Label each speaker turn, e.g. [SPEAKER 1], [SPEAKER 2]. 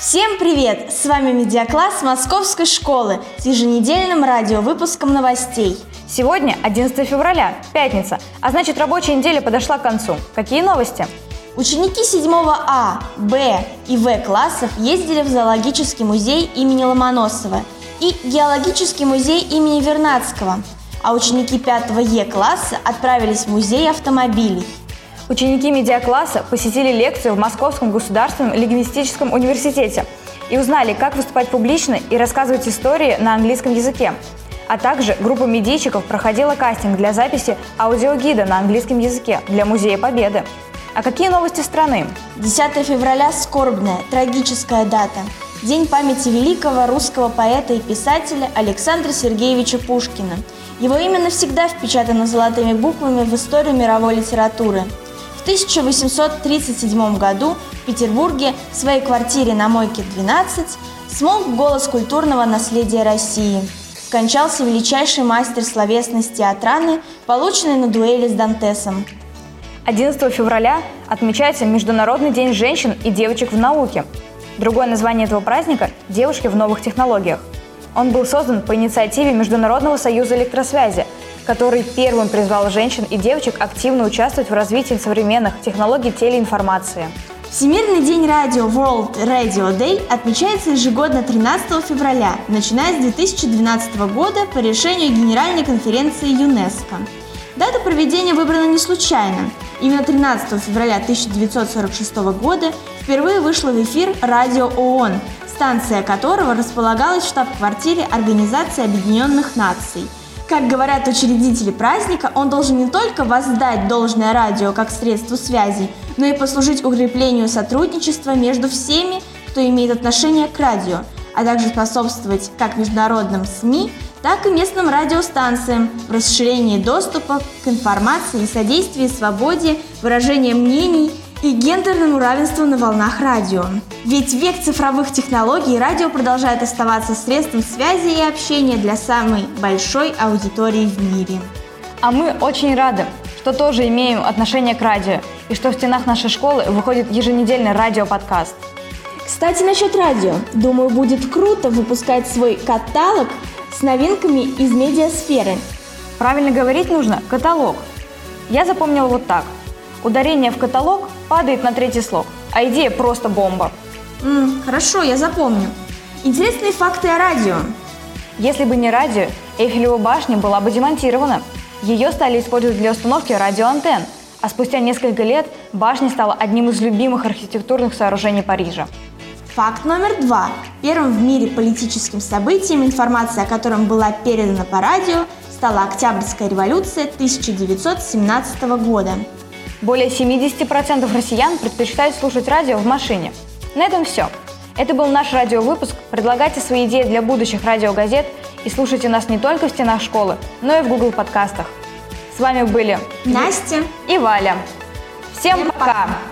[SPEAKER 1] Всем привет! С вами медиакласс Московской школы с еженедельным радиовыпуском новостей.
[SPEAKER 2] Сегодня 11 февраля, пятница, а значит рабочая неделя подошла к концу. Какие новости?
[SPEAKER 1] Ученики 7 А, Б и В классов ездили в зоологический музей имени Ломоносова и геологический музей имени Вернадского, а ученики 5 Е класса отправились в музей автомобилей.
[SPEAKER 2] Ученики медиакласса посетили лекцию в Московском государственном лингвистическом университете и узнали, как выступать публично и рассказывать истории на английском языке. А также группа медийщиков проходила кастинг для записи аудиогида на английском языке для Музея Победы. А какие новости страны?
[SPEAKER 1] 10 февраля – скорбная, трагическая дата. День памяти великого русского поэта и писателя Александра Сергеевича Пушкина. Его имя навсегда впечатано золотыми буквами в историю мировой литературы. В 1837 году в Петербурге в своей квартире на Мойке 12 смолк голос культурного наследия России. Скончался величайший мастер словесности театраны, полученный на дуэли с Дантесом.
[SPEAKER 2] 11 февраля отмечается Международный день женщин и девочек в науке. Другое название этого праздника – «Девушки в новых технологиях». Он был создан по инициативе Международного союза электросвязи, который первым призвал женщин и девочек активно участвовать в развитии современных технологий телеинформации.
[SPEAKER 1] Всемирный день радио World Radio Day отмечается ежегодно 13 февраля, начиная с 2012 года по решению Генеральной конференции ЮНЕСКО. Дата проведения выбрана не случайно. Именно 13 февраля 1946 года впервые вышло в эфир радио ООН, станция которого располагалась в штаб-квартире Организации Объединенных Наций. Как говорят учредители праздника, он должен не только воздать должное радио как средство связи, но и послужить укреплению сотрудничества между всеми, кто имеет отношение к радио, а также способствовать как международным СМИ, так и местным радиостанциям в расширении доступа к информации и содействии свободе, выражения мнений и гендерному равенству на волнах радио. Ведь в век цифровых технологий радио продолжает оставаться средством связи и общения для самой большой аудитории в мире.
[SPEAKER 2] А мы очень рады, что тоже имеем отношение к радио и что в стенах нашей школы выходит еженедельный радиоподкаст.
[SPEAKER 1] Кстати, насчет радио. Думаю, будет круто выпускать свой каталог с новинками из медиасферы.
[SPEAKER 2] Правильно говорить нужно «каталог». Я запомнила вот так. Ударение в каталог падает на третий слог, а идея просто бомба.
[SPEAKER 1] Хорошо, я запомню. Интересные факты о радио.
[SPEAKER 2] Если бы не радио, Эйфелева башня была бы демонтирована. Ее стали использовать для установки радиоантенн, а спустя несколько лет башня стала одним из любимых архитектурных сооружений Парижа.
[SPEAKER 1] Факт номер 2. Первым в мире политическим событием, информация о котором была передана по радио, стала Октябрьская революция 1917 года.
[SPEAKER 2] Более 70% россиян предпочитают слушать радио в машине. На этом все. Это был наш радиовыпуск. Предлагайте свои идеи для будущих радиогазет и слушайте нас не только в стенах школы, но и в Google подкастах. С вами были
[SPEAKER 1] Настя
[SPEAKER 2] и Валя. Всем пока!